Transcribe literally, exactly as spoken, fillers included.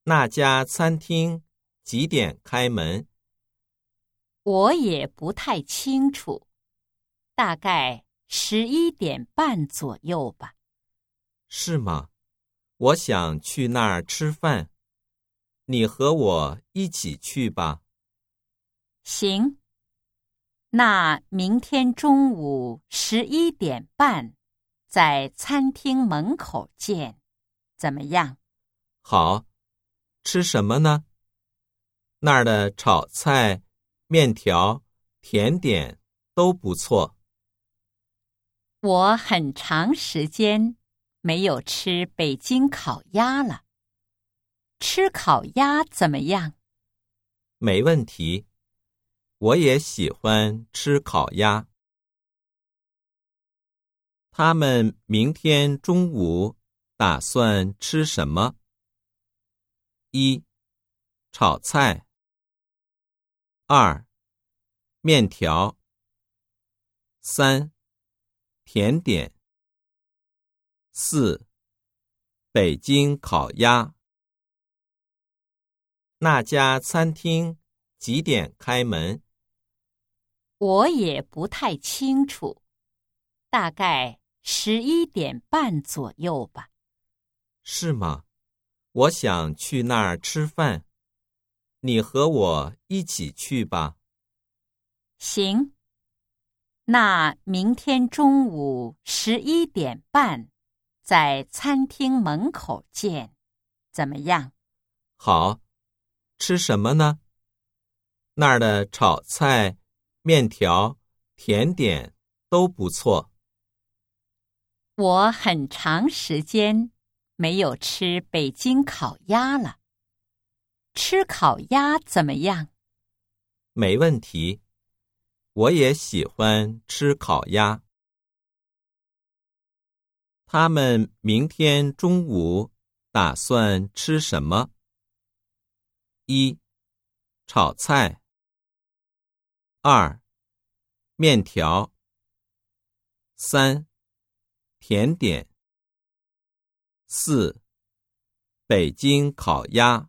那家餐厅几点开门？ 我也不太清楚，大概十一点半左右吧。 是吗？我想去那儿吃饭，你和我一起去吧。 行，那明天中午十一点半，在餐厅门口见，怎么样？ 好，吃什么呢？那儿的炒菜、面条、甜点都不错。 我很长时间没有吃北京烤鸭了，吃烤鸭怎么样？ 没问题，我也喜欢吃烤鸭。他们明天中午打算吃什么？一、炒菜。二、面条。三、甜点。四、北京烤鸭。那家餐厅几点开门？ 我也不太清楚，大概十一点半左右吧。 是吗？我想去那儿吃饭，你和我一起去吧。 行，那明天中午十一点半，在餐厅门口见，怎么样？ 好，吃什么呢？那儿的炒菜、面条、甜点都不错。 我很长时间没有吃北京烤鸭了，吃烤鸭怎么样？ 没问题，我也喜欢吃烤鸭。他们明天中午打算吃什么？一、炒菜。二、面条。三、甜点。四、北京烤鸭。